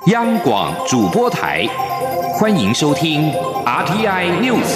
央广主播台，欢迎收听 RTI News。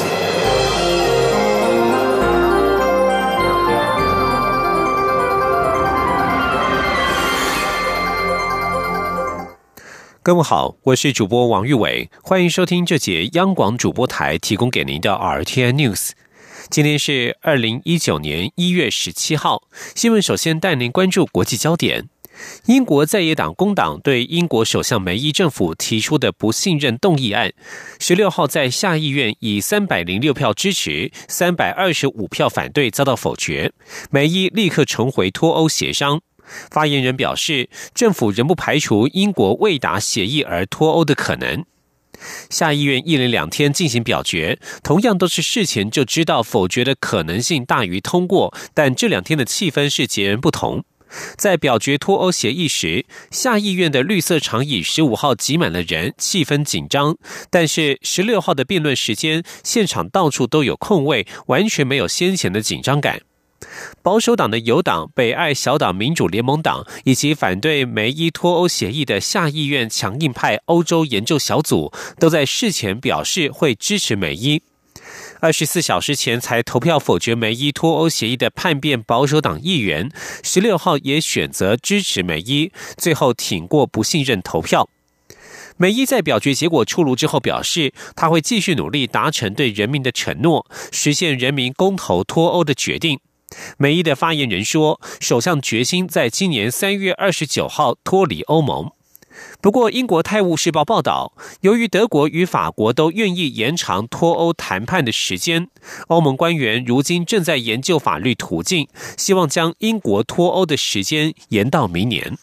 各位好，我是主播王玉伟，欢迎收听这节央广主播台提供给您的 RTI News。今天是2019年1月17号，新闻首先带您关注国际焦点。英国在野党工党对英国首相梅伊政府提出的不信任动议案，16号在下议院以306票支持、325票反对遭到否决，梅伊立刻重回脱欧协商。发言人表示，政府仍不排除英国未达协议而脱欧的可能。下议院一连2天进行表决，同样都是事前就知道否决的可能性大于通过，但这2天的气氛是截然不同。在表决脱欧协议时，下议院的绿色长椅15号挤满了人，气氛紧张。但是16号的辩论时间，现场到处都有空位，完全没有先前的紧张感。保守党的友党北爱小党民主联盟党以及反对梅伊脱欧协议的下议院强硬派欧洲研究小组都在事前表示会支持梅伊。24小时前才投票否决梅伊脱欧协议的叛变保守党议员16号也选择支持梅伊，最后挺过不信任投票。梅伊在表决结果出炉之后表示，他会继续努力达成对人民的承诺，实现人民公投脱欧的决定。梅伊的发言人说，首相决心在今年3月29号脱离欧盟。不过，英国《泰晤士报》报道，由于德国与法国都愿意延长脱欧谈判的时间，欧盟官员如今正在研究法律途径，希望将英国脱欧的时间延到明年。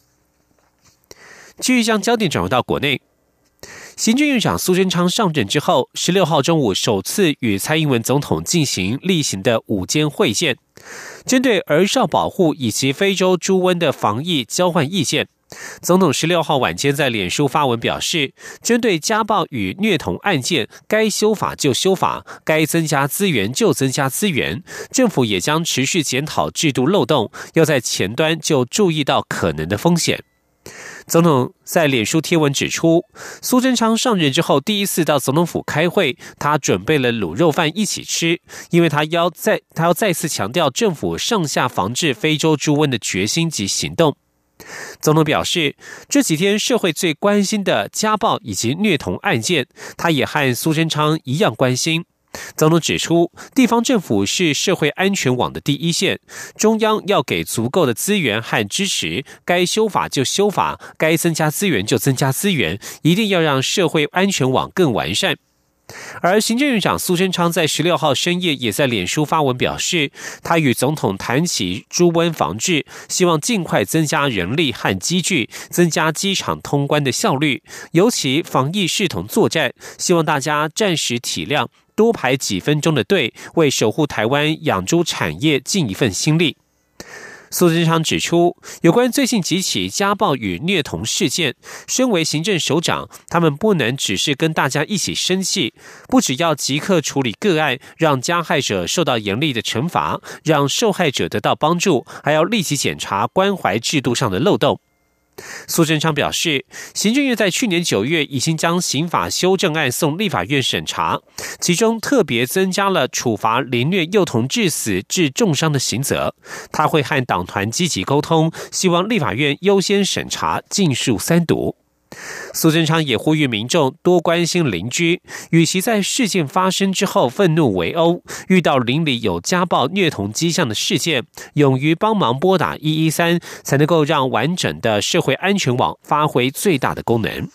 继续将焦点转回到国内。行政院长苏贞昌上任之后，16号中午首次与蔡英文总统进行例行的午间会见，针对儿少保护以及非洲猪瘟的防疫交换意见。总统16号晚间在脸书发文表示，针对家暴与虐童案件，该修法就修法，该增加资源就增加资源，政府也将持续检讨制度漏洞，要在前端就注意到可能的风险。总统在脸书贴文指出，苏贞昌上任之后第一次到总统府开会，他准备了卤肉饭一起吃，因为他要再次强调政府上下防治非洲猪瘟的决心及行动。总统表示，这几天社会最关心的家暴以及虐童案件，他也和苏贞昌一样关心。总统指出，地方政府是社会安全网的第一线，中央要给足够的资源和支持，该修法就修法，该增加资源就增加资源，一定要让社会安全网更完善。而行政院长苏贞昌在16号深夜也在脸书发文表示，他与总统谈起猪瘟防治，希望尽快增加人力和机具，增加机场通关的效率，尤其防疫视同作战，希望大家暂时体谅，多排几分钟的队，为守护台湾养猪产业尽一份心力。苏贞昌指出，有关最近几起家暴与虐童事件，身为行政首长，他们不能只是跟大家一起生气，不只要即刻处理个案，让加害者受到严厉的惩罚，让受害者得到帮助，还要立即检查关怀制度上的漏洞。苏贞昌表示，行政院在去年9月已经将刑法修正案送立法院审查，其中特别增加了处罚凌虐幼童致死致重伤的刑责。他会和党团积极沟通，希望立法院优先审查，尽数3读。苏贞昌也呼吁民众多关心邻居，与其在事件发生之后愤怒围殴，遇到邻里有家暴虐童迹象的事件，勇于帮忙拨打113，才能够让完整的社会安全网发挥最大的功能。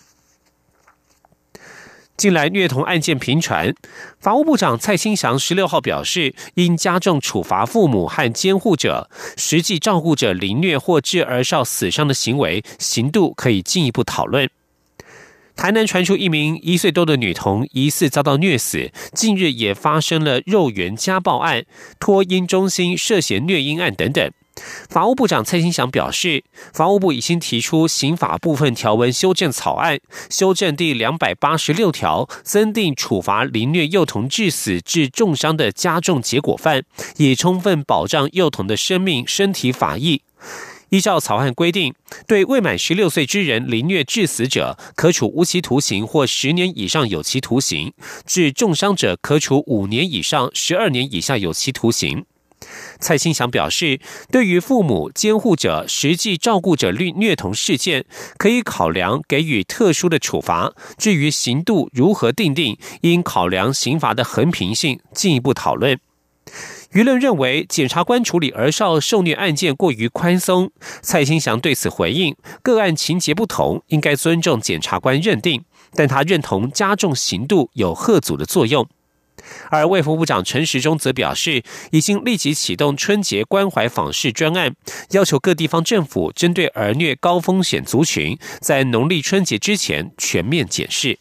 近来虐童案件频传，法务部长蔡清祥16号表示，应加重处罚父母和监护者实际照顾者凌虐或致儿少死伤的行为，刑度可以进一步讨论。台南传出一名1岁多的女童疑似遭到虐死，近日也发生了肉圆家暴案、托婴中心涉嫌虐婴案等等。法务部长蔡清祥表示，法务部已经提出刑法部分条文修正草案，修正第286条，增订处罚凌虐幼童致死致重伤的加重结果犯，以充分保障幼童的生命、身体法益。 依照草案规定，对未满16岁之人凌虐致死者，可处无期徒刑或10年以上有期徒刑；致重伤者，可处5年以上12年以下有期徒刑。蔡清祥表示，对于父母、监护者、实际照顾者虐童事件，可以考量给予特殊的处罚。至于刑度如何定定，应考量刑罚的衡平性，进一步讨论。舆论认为，检察官处理儿少受虐案件过于宽松。蔡清祥对此回应，个案情节不同，应该尊重检察官认定，但他认同加重刑度有吓阻的作用。而卫福部长陈时中则表示，已经立即启动春节关怀访视专案，要求各地方政府针对儿虐高风险族群，在农历春节之前全面检视。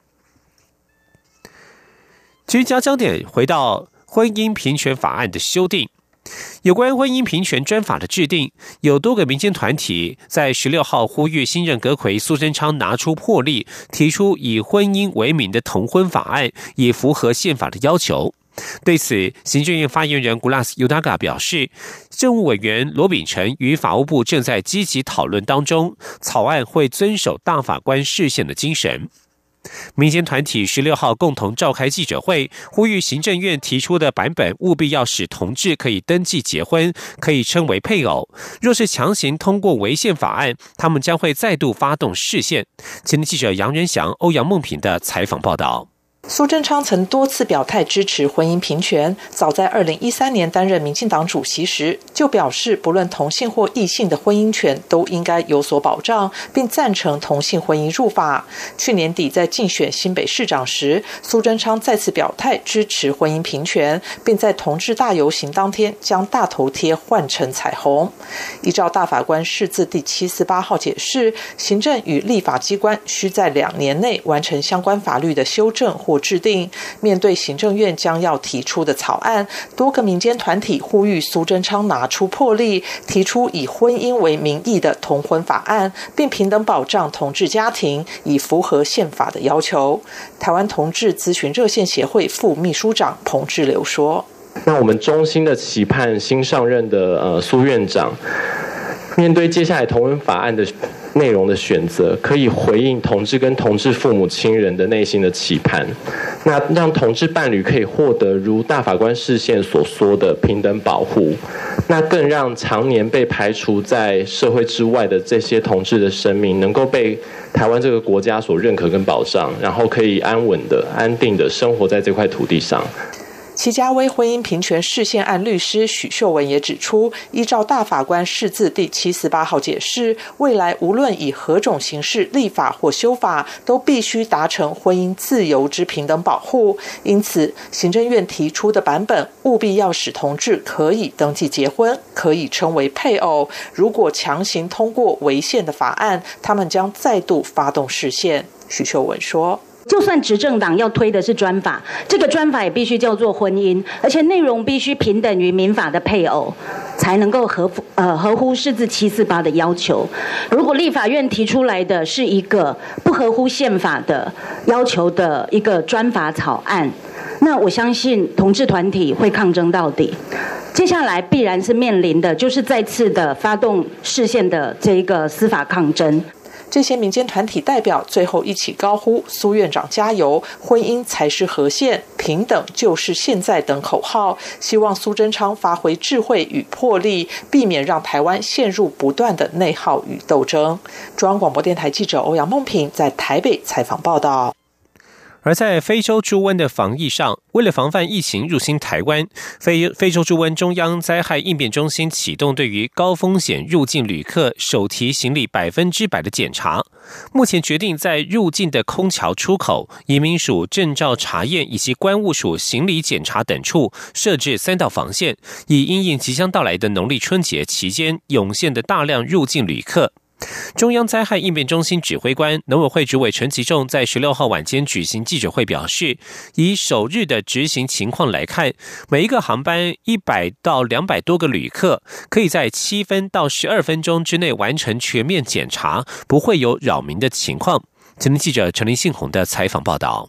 至于将焦点回到婚姻平权法案的修订，有关婚姻平权专法的制定，有多个民间团体在16号呼吁新任阁揆苏贞昌拿出魄力，提出以婚姻为名的同婚法案，以符合宪法的要求。对此，行政院发言人古拉斯尤达嘎表示，政务委员罗秉成与法务部正在积极讨论当中，草案会遵守大法官释宪的精神。民间团体16号共同召开记者会，呼吁行政院提出的版本务必要使同志可以登记结婚，可以称为配偶。若是强行通过违宪法案，他们将会再度发动释宪。前天记者杨仁祥、欧阳梦平的采访报道。 苏贞昌曾多次表态支持婚姻平权，早在2013年担任民进党主席时，就表示不论同性或异性的婚姻权都应该有所保障，并赞成同性婚姻入法。去年底在竞选新北市长时，苏贞昌再次表态支持婚姻平权，并在同志大游行当天将大头贴换成彩虹。依照大法官释字第748号解释，行政与立法机关需在2年内完成相关法律的修正或制定。面对行政院将要提出的草案，多个民间团体呼吁苏贞昌拿出魄力，提出以婚姻为名义的同婚法案，并平等保障同志家庭，以符合宪法的要求。台湾同志咨询热线协会副秘书长彭志流说： 那我们衷心的期盼新上任的苏院长，面对接下来同婚法案的内容的选择，可以回应同志跟同志父母亲人的内心的期盼，那让同志伴侣可以获得如大法官释宪所说的平等保护，那更让常年被排除在社会之外的这些同志的生命能够被台湾这个国家所认可跟保障，然后可以安稳的、安定的生活在这块土地上。 齐家威婚姻平权释宪案律师许秀文也指出，依照大法官释字第748号解释，未来无论以何种形式立法或修法，都必须达成婚姻自由之平等保护。因此，行政院提出的版本务必要使同志可以登记结婚，可以称为配偶。如果强行通过违宪的法案，他们将再度发动释宪。许秀文说： 就算执政党要推的是专法，这个专法也必须叫做婚姻，而且内容必须平等于民法的配偶，才能够合乎释字748的要求。如果立法院提出来的是一个不合乎宪法的要求的一个专法草案，那我相信同志团体会抗争到底。接下来必然是面临的就是再次的发动释宪的这一个司法抗争。 这些民间团体代表最后一起高呼苏院长加油，婚姻才是合宪，平等就是现在等口号，希望苏贞昌发挥智慧与魄力，避免让台湾陷入不断的内耗与斗争。中央广播电台记者欧阳梦平在台北采访报道。 而在非洲猪瘟的防疫上，为了防范疫情入侵台湾，非洲猪瘟中央灾害应变中心启动对于高风险入境旅客手提行李100%的检查。目前决定在入境的空桥出口、移民署证照查验以及关务署行李检查等处设置3道防线，以因应即将到来的农历春节期间涌现的大量入境旅客。中央灾害应变中心指挥官、农委会主委陈其仲在16号晚间举行记者会表示，以首日的执行情况来看，每一个航班100到200多个旅客可以在7分到12分钟之内完成全面检查，不会有扰民的情况。前天记者陈林信宏的采访报道。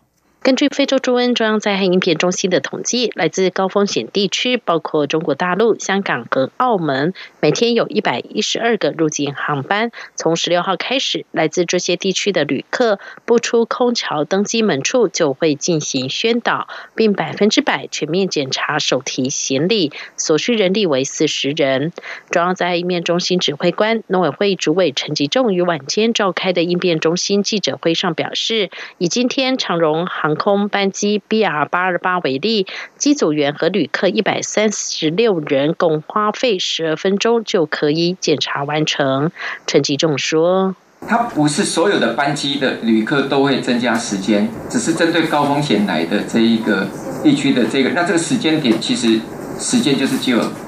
根据非洲猪瘟中央灾害应变中心的统计，来自高风险地区包括中国大陆、香港和澳门，每天有112个入境航班。从16号开始，来自这些地区的旅客不出空桥登机门处就会进行宣导，并100%全面检查手提行李，所需人力为40人。中央灾害应变中心指挥官、农委会主委陈吉仲于晚间召开的应变中心记者会上表示，以今天长荣航空班机 BR828 为例，机组员和旅客136人，共花费12分钟就可以检查完成。陈吉仲说， 它不是所有的班机的旅客都会增加时间，只是针对高风险来的这一个地区的那这个时间点，其实时间就是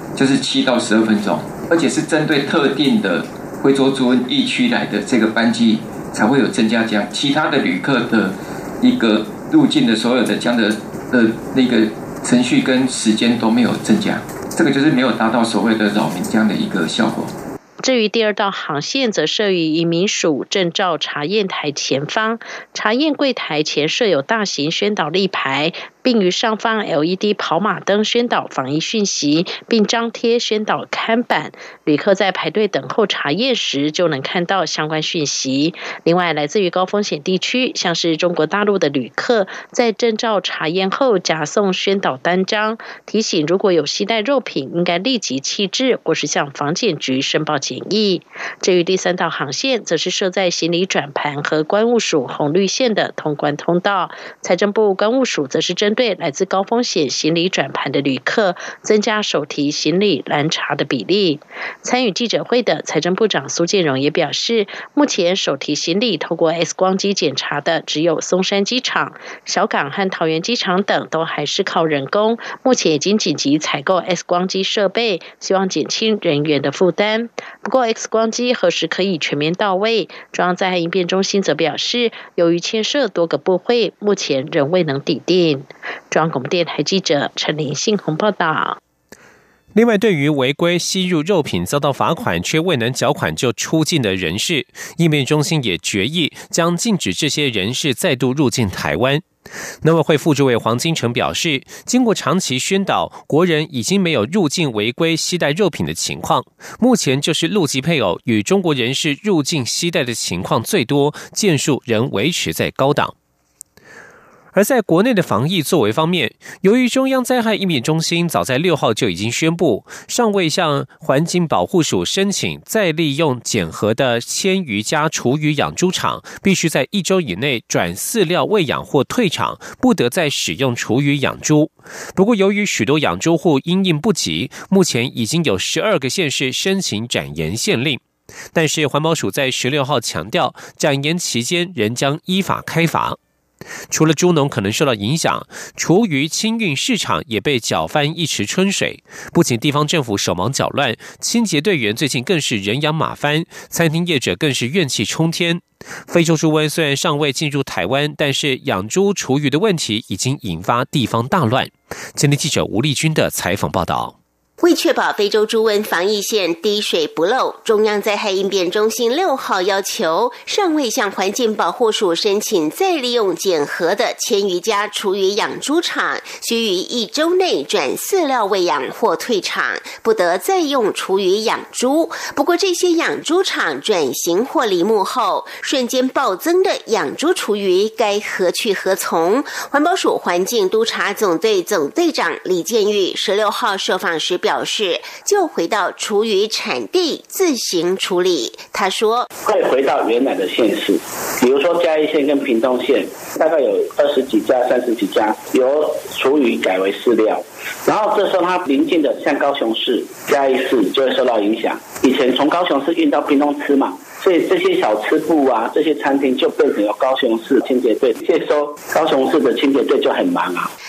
7到12分钟，而且是针对特定的非洲猪瘟疫区来的这个班机才会有增加这样，其他的旅客的一个入境的所有的这样的那个程序跟时间都没有增加，这个就是没有达到所谓的扰民这样的一个效果。 至于第二道航线，则设于移民署证照查验台前方，查验柜台前设有大型宣导立牌，并于上方 LED 跑马灯宣导防疫讯息，并张贴宣导看板。旅客在排队等候查验时就能看到相关讯息。另外，来自于高风险地区，像是中国大陆的旅客，在证照查验后夹送宣导单张，提醒如果有携带肉品，应该立即弃置或是向防检局申报检疫。至于第三道航线，则是设在行李转盘和关务署红绿线的通关通道。财政部关务署则是针对来自高风险行李转盘的旅客，增加手提行李拦查的比例。参与记者会的财政部长苏建荣也表示，目前手提行李透过 X 光机检查的只有松山机场、小港和桃园机场等都还是靠人工，目前已经紧急采购 X 光机设备，希望减轻人员的负担。不过 X 光机何时可以全面到位？中央灾害应变中心则表示，由于牵涉多个部会，目前仍未能拟定。中央广播电台记者陈林信宏报道。 另外，对于违规吸入肉品遭到罚款却未能缴款就出境的人士，应变中心也决议将禁止这些人士再度入境台湾。农委会副主委黄金城表示，经过长期宣导，国人已经没有入境违规携带肉品的情况，目前就是陆籍配偶与中国人士入境携带的情况最多，件数仍维持在高档。而在国内的防疫作为方面，由于中央灾害应变中心早在6号就已经宣布，尚未向环境保护署申请再利用检核的千余家厨余养猪场，必须在1周以内转饲料喂养或退场，不得再使用厨余养猪。不过，由于许多养猪户因应不及，目前已经有12个县市申请展延限令。但是环保署在16号强调，展延期间仍将依法开罚。除了猪农可能受到影响，厨余清运市场也被搅翻一池春水。不仅地方政府手忙脚乱，清洁队员最近更是人仰马翻，餐厅业者更是怨气冲天。非洲猪瘟虽然尚未进入台湾，但是养猪厨余的问题已经引发地方大乱。今天记者吴丽君的采访报道。 为确保非洲猪瘟防疫线滴水不漏，中央灾害应变中心6号要求，尚未向环境保护署申请再利用检核的千余家厨余养猪场，需于1周内转饲料喂养或退场，不得再用厨余养猪。不过，这些养猪场转型或离牧后，瞬间暴增的养猪厨余该何去何从？环保署环境督察总队总队长李建玉16号受访时表示，就回到厨余产地自行处理。他说， 会回到原来的县市，比如说嘉义县跟屏东县，大概有20几家、30几家由厨余改为饲料，然后这时候它邻近的像高雄市、嘉义市就会受到影响。以前从高雄市运到屏东吃嘛，所以这些小吃部啊，这些餐厅就变成有高雄市清洁队接收，高雄市的清洁队就很忙啊。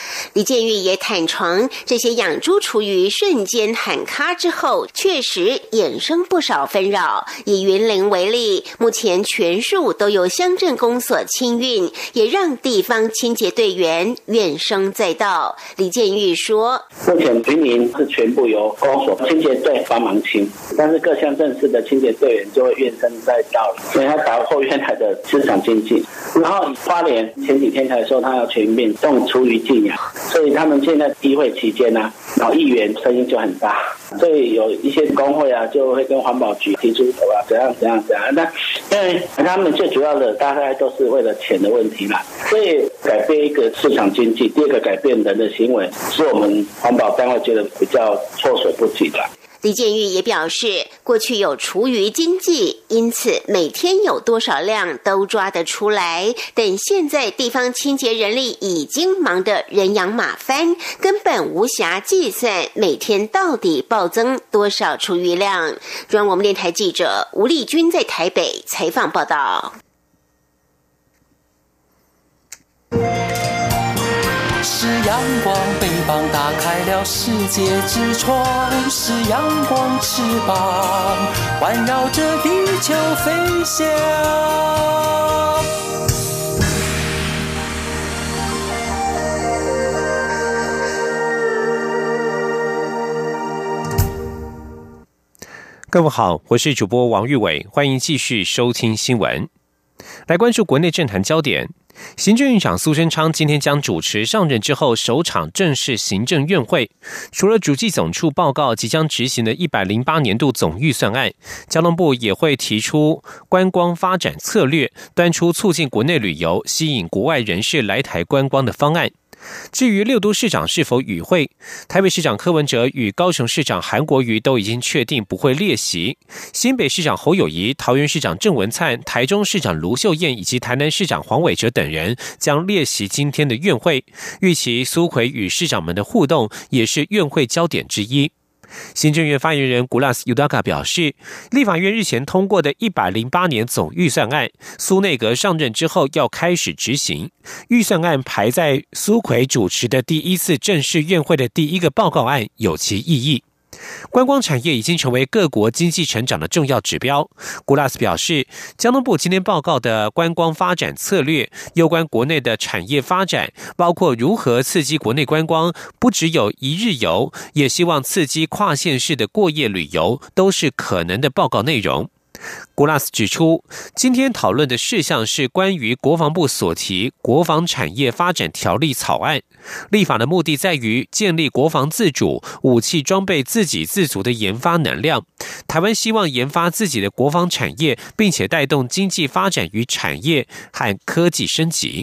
李建玉也坦承，这些养猪厨余瞬间喊卡之后，确实衍生不少纷扰。以云林为例，目前全数都由乡镇公所清运，也让地方清洁队员怨声载道。李建玉说， 目前云林是全部由公所清洁队帮忙清，但是各乡镇市的清洁队员就会怨声载道了，所以他打破原来的市场经济。然后花莲前几天才说他要全面用厨余禁养，所以他们现在议会期间然后议员声音就很大，所以有一些工会就会跟环保局提出怎样。那因为他们最主要的大概都是为了钱的问题啦，所以改变一个市场经济，第二个改变人的行为，是我们环保单位觉得比较措手不及的。 李建玉也表示，过去有厨余经济，因此每天有多少量都抓得出来，但现在地方清洁人力已经忙得人仰马翻，根本无暇计算每天到底暴增多少厨余量。中央广播电台记者吴丽君在台北采访报道。 是阳光，翅膀打开了世界之窗，是阳光翅膀环绕着地球飞翔。 各位好，我是主播王玉伟，欢迎继续收听新闻。来关注国内政坛焦点。行政院长苏贞昌今天将主持上任之后首场正式行政院会。除了主计总处报告即将执行的108年度总预算案，交通部也会提出观光发展策略，端出促进国内旅游、吸引国外人士来台观光的方案。至于六都市长是否与会，台北市长柯文哲与高雄市长韩国瑜都已经确定不会列席，新北市长侯友宜、桃园市长郑文灿、台中市长卢秀燕以及台南市长黄伟哲等人将列席今天的院会，预期苏揆与市长们的互动也是院会焦点之一。行政院发言人古拉斯尤达卡表示，立法院日前通过的108年总预算案，苏内阁上任之后要开始执行。预算案排在苏揆主持的第一次正式院会的第一个报告案，有其意义。观光产业已经成为各国经济成长的重要指标。古拉斯表示，交通部今天报告的观光发展策略，有关国内的产业发展，包括如何刺激国内观光，不只有一日游，也希望刺激跨县市的过夜旅游，都是可能的报告内容。古拉斯指出，今天讨论的事项是关于国防部所提国防产业发展条例草案，立法的目的在于建立国防自主、武器装备自给自足的研发能量。台湾希望研发自己的国防产业，并且带动经济发展与产业和科技升级。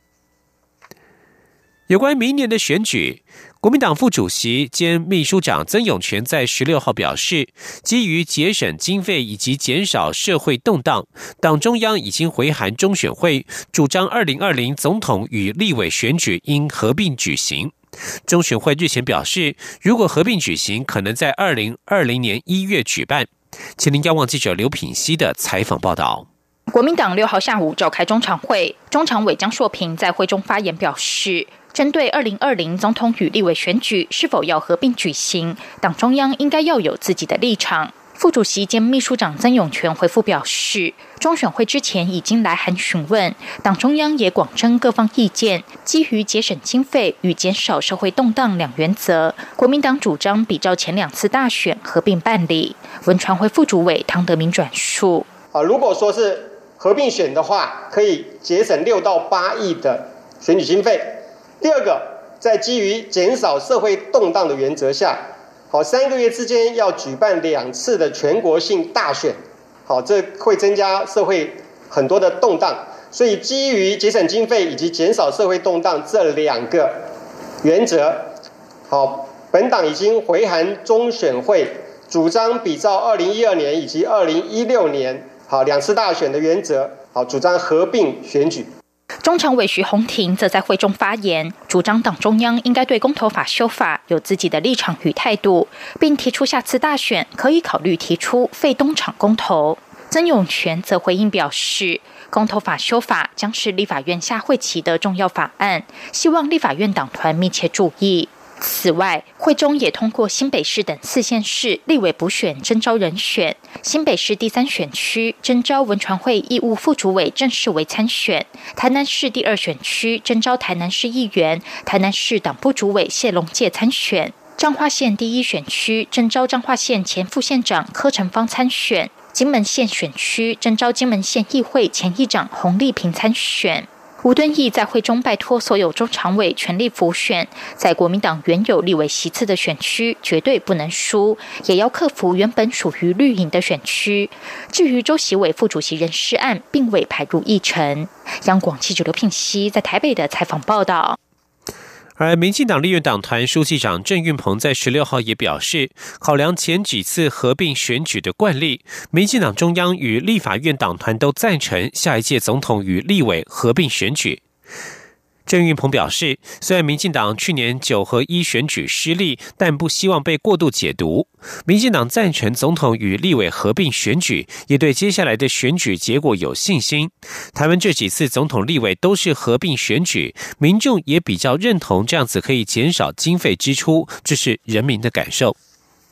有关明年的选举，国民党副主席兼秘书长曾永权在16号表示，基于节省经费以及减少社会动荡，党中央已经回函中选会，主张2020总统与立委选举应合并举行。中选会日前表示，如果合并举行，可能在2020年1月举办。请您仰望记者刘品熙的采访报道。 国民党6号下午召开中常会，中常委江硕平在会中发言表示，针对2020总统与立委选举是否要合并举行，党中央应该要有自己的立场。副主席兼秘书长曾永权回复表示，中选会之前已经来函询问，党中央也广征各方意见，基于节省经费与减少社会动荡两原则，国民党主张比照前2次大选合并办理。文传会副主委汤德明转述， 如果说是合并选的话，可以节省6到8亿的选举经费。第二个，在基于减少社会动荡的原则下，3个月之间要举办2次的全国性大选，这会增加社会很多的动荡，所以基于节省经费以及减少社会动荡这2个原则，本党已经回函中选会，主张比照2012年以及2016年2次大选的原则，主张合并选举。 中常委徐宏庭则在会中发言，主张党中央应该对公投法修法有自己的立场与态度，并提出下次大选可以考虑提出废东厂公投。 曾永权则回应表示，公投法修法将是立法院下会期的重要法案，希望立法院党团密切注意。此外，会中也通过新北市等4县市立委补选征召人选，新北市第3选区征召文传会义务副主委郑世维参选，台南市第2选区征召台南市议员、台南市党部主委谢龙介参选，彰化县第1选区征召彰化县前副县长柯成芳参选，金门县选区征召金门县议会前议长洪丽萍参选。吴敦义在会中拜托所有中常委全力辅选，在国民党原有立委席次的选区绝对不能输，也要克服原本属于绿营的选区。至于周习伟副主席人事案，并未排入议程。央广记者刘聘熙在台北的采访报道。 而民进党立院党团书记长郑运鹏在16号也表示，考量前几次合并选举的惯例，民进党中央与立法院党团都赞成下一届总统与立委合并选举。郑运鹏表示，虽然民进党去年9合1选举失利，但不希望被过度解读。民进党赞成总统与立委合并选举，也对接下来的选举结果有信心。台湾这几次总统立委都是合并选举，民众也比较认同这样子可以减少经费支出，这是人民的感受。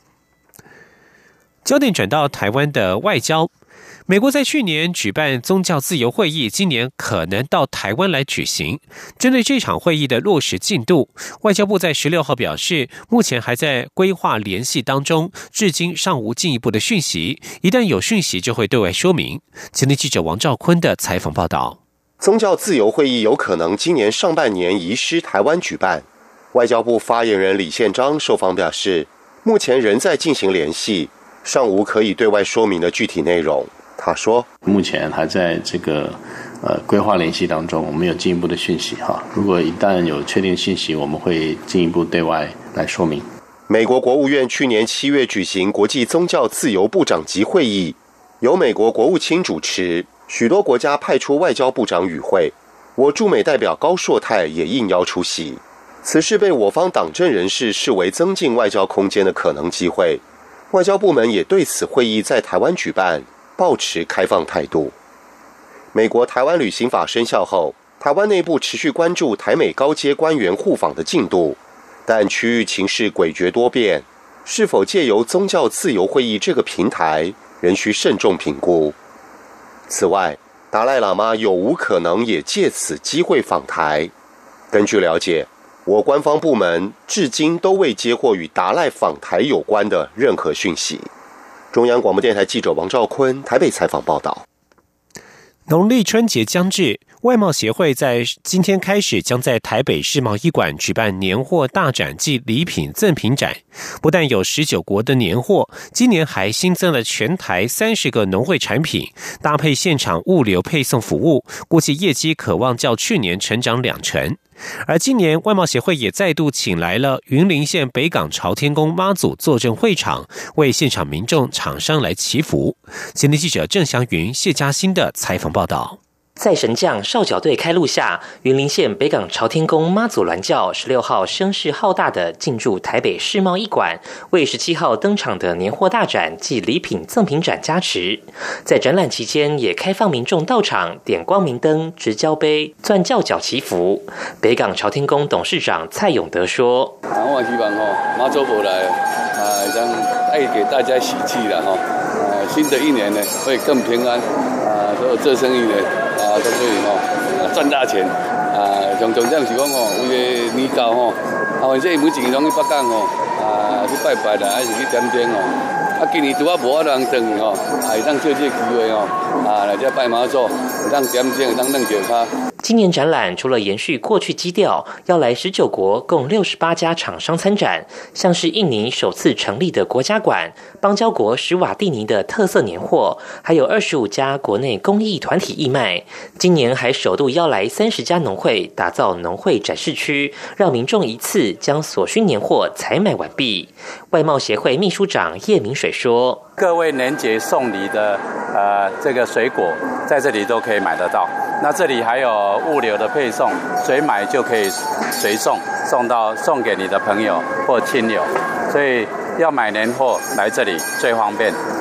焦点转到台湾的外交。美国在去年举办宗教自由会议，今年可能到台湾来举行。针对这场会议的落实进度，外交部在16号表示，目前还在规划联系当中，至今尚无进一步的讯息，一旦有讯息就会对外说明。前天记者王兆坤的采访报道。 宗教自由会议有可能今年上半年移师台湾举办。外交部发言人李宪章受访表示，目前仍在进行联系，尚无可以对外说明的具体内容。他说， 目前还在这个规划联系当中，我们有进一步的讯息哈。如果一旦有确定信息，我们会进一步对外来说明。 美国国务院去年7月举行国际宗教自由部长级会议，由美国国务卿主持，许多国家派出外交部长与会，我驻美代表高硕泰也应邀出席。此事被我方党政人士视为增进外交空间的可能机会，外交部门也对此会议在台湾举办抱持开放态度。美国台湾旅行法生效后，台湾内部持续关注台美高阶官员互访的进度，但区域情势诡谲多变，是否借由宗教自由会议这个平台，仍需慎重评估。此外，达赖喇嘛有无可能也借此机会访台？根据了解，我官方部门至今都未接获与达赖访台有关的任何讯息。中央广播电台记者王兆坤台北采访报道。 农历春节将至，外贸协会在今天开始将在台北世贸一馆举办年货大展暨礼品赠品展，不但有19国的年货，今年还新增了全台30个农会产品，搭配现场物流配送服务，估计业绩可望较去年成长2成。而今年外贸协会也再度请来了云林县北港朝天宫妈祖坐镇会场，为现场民众厂商来祈福。前天记者郑祥云、谢嘉欣的采访报道。 在神将少角队开路下，云林县北港朝天宫妈祖銮轿16号声势浩大的进驻台北世贸一馆，为17号登场的年货大展暨礼品赠品展加持。在展览期间，也开放民众到场点光明灯、执交杯、钻轿脚祈福。北港朝天宫董事长蔡永德说：“ 我希望妈祖婆来让带给大家喜气了新的一年呢会更平安所有做生意的。”都可以赚大钱上重点是讲为了年糕反正每一年拢去北港去拜拜啦，还是去点点今年拄啊无人等会当借这个机会来这拜妈祖，会当点点，会当弄酒咖。 今年展览除了延续过去基调，要来19国共68家厂商参展，像是印尼首次成立的国家馆、邦交国史瓦蒂尼的特色年货，还有25家国内公益团体义卖。今年还首度邀来30家农会，打造农会展示区，让民众一次将所需年货采买完毕。外贸协会秘书长叶明水说：“ 各位年节送礼的这个水果，在这里都可以买得到。那这里还有物流的配送，随买就可以随送，送给你的朋友或亲友。所以要买年货来这里最方便。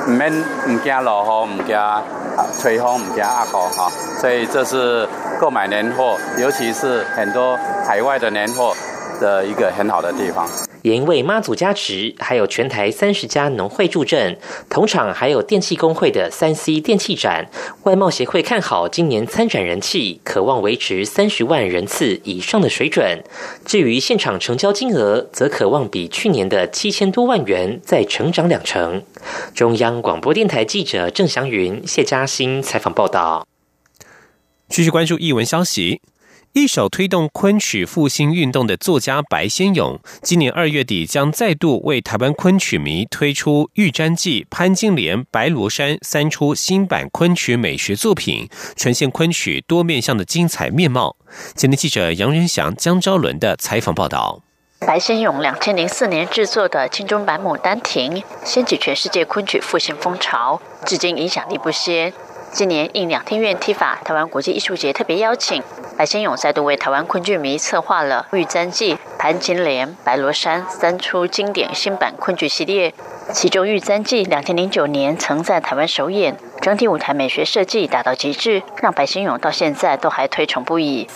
免唔惊落雨，唔惊吹风，唔惊压雨哈。所以这是购买年货，尤其是很多海外的年货的一个很好的地方。 也因为妈祖加持，还有全台30家农会助阵，同场还有电气工会的3C 电器展。外贸协会看好今年参展人气，可望维持30万人次以上的水准。至于现场成交金额，则可望比去年的7000多万元再成长2成。中央广播电台记者郑祥云、谢嘉欣采访报道。 继续关注艺文消息。一手推动昆曲复兴运动的作家白先勇，今年2月底将再度为台湾昆曲迷推出《玉簪记》《潘金莲》《白罗衫》3出新版昆曲美学作品，呈现昆曲多面向的精彩面貌。前天记者杨仁祥、江昭伦的采访报道。 白先勇2004年制作的金钟版《牡丹亭》，掀起全世界昆曲复兴风潮，至今影响力不歇。今年应两厅院踢法台湾国际艺术节特别邀请，白先勇再度为台湾昆剧迷策划了《玉簪记》《潘金莲》《白罗衫》3出经典新版昆剧系列。其中《玉簪记》2009年曾在台湾首演，整体舞台美学设计达到极致，让白先勇到现在都还推崇不已。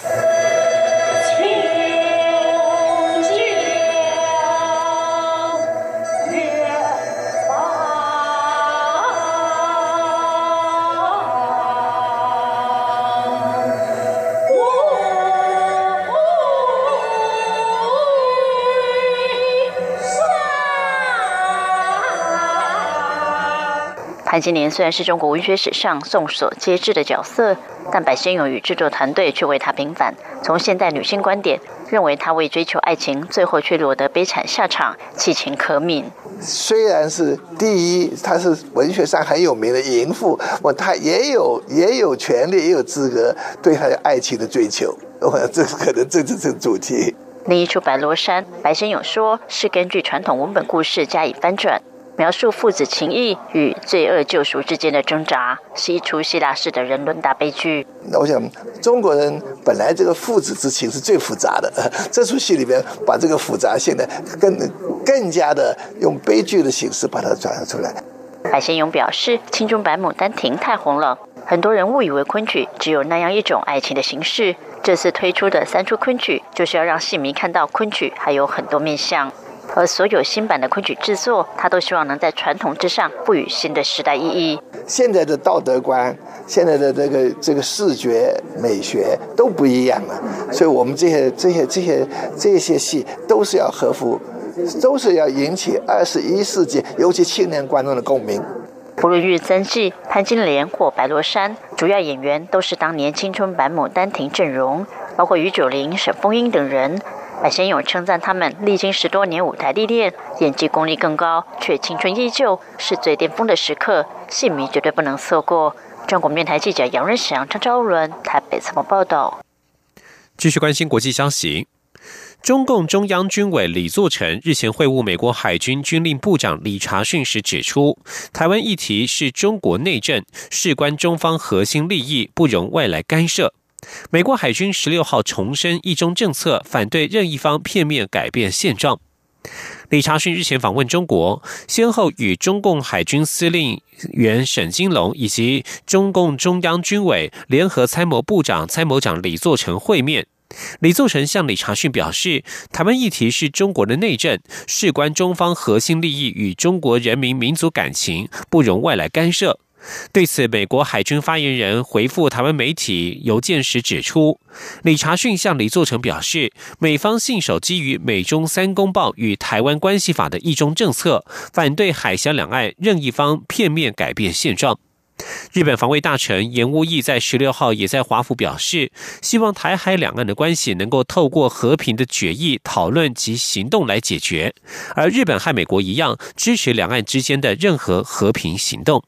潘金莲虽然是中国文学史上众所皆知的角色，但白先勇与制作团队却为她平反。从现代女性观点，认为她为追求爱情，最后却落得悲惨下场，弃情可悯。 虽然是第一，她是文学上很有名的淫妇，她也有权利，也有资格对她的爱情的追求。这可能这是主题。 另一出《白罗衫》，白先勇说是根据传统文本故事加以翻转。描述父子情谊与罪恶救赎之间的挣扎，是一出希腊式的人伦大悲剧。 我想中国人本来这个父子之情是最复杂的，这出戏里面把这个复杂性呢更加的用悲剧的形式把它转现出来。 白先勇表示，青春版《牡丹亭》太红了，很多人误以为昆曲只有那样一种爱情的形式。这次推出的3出昆曲，就是要让戏迷看到昆曲还有很多面向。而所有新版的昆曲制作，他都希望能在传统之上赋予新的时代意义。 现在的道德观，现在的这个视觉美学都不一样了，所以我们这些戏都是要合乎，都是要引起21世纪尤其青年观众的共鸣。 不论《玉簪记》、潘金莲或《白罗衫》，主要演员都是当年青春版《牡丹亭》阵容，包括于九龄、沈凤英等人。白先勇称赞他们历经10多年舞台历练，演技功力更高，却青春依旧，是最巅峰的时刻，戏迷绝对不能错过。中广电台记者杨仁祥、张昭伦台北采访报道。 继续关心国际消息。中共中央军委李作成日前会晤美国海军军令部长李察训时指出，台湾议题是中国内政，事关中方核心利益，不容外来干涉。美国海军16号重申一中政策，反对任一方片面改变现状。李察训日前访问中国，先后与中共海军司令员沈金龙以及中共中央军委联合参谋部长、参谋长李作成会面。李作成向李察训表示，台湾议题是中国的内政，事关中方核心利益与中国人民民族感情，不容外来干涉。对此，美国海军发言人回复台湾媒体邮件时指出，李察训向李作成表示，美方信守基于美中3公报与台湾关系法的一中政策，反对海峡两岸任一方片面改变现状。日本防卫大臣岩屋义在16号也在华府表示，希望台海两岸的关系能够透过和平的决议、讨论及行动来解决，而日本和美国一样，支持两岸之间的任何和平行动。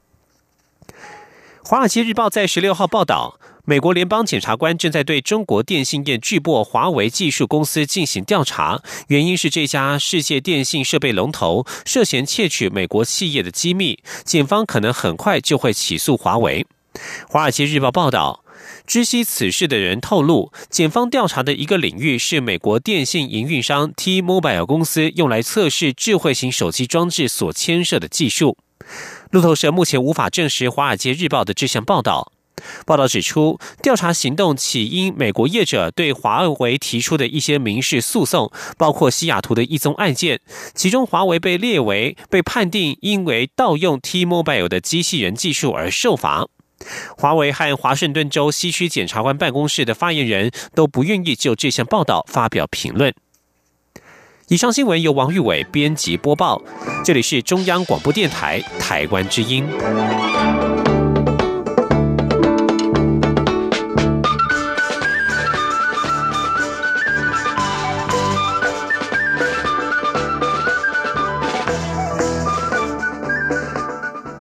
华尔街日报在16号报道，美国联邦检察官正在对中国电信业巨擘华为技术公司进行调查，原因是这家世界电信设备龙头涉嫌窃取美国企业的机密，检方可能很快就会起诉华为。华尔街日报报道，知悉此事的人透露，检方调查的一个领域是美国电信营运商 T-Mobile 公司用来测试智慧型手机装置所牵涉的技术。 路透社目前无法证实《华尔街日报》的这项报道。报道指出，调查行动起因美国业者对华为提出的一些民事诉讼，包括西雅图的一宗案件，其中华为被判定因为盗用 T-Mobile 的机器人技术而受罚。华为和华盛顿州西区检察官办公室的发言人都不愿意就这项报道发表评论。以上新闻由王玉伟编辑播报，这里是中央广播电台台湾之音。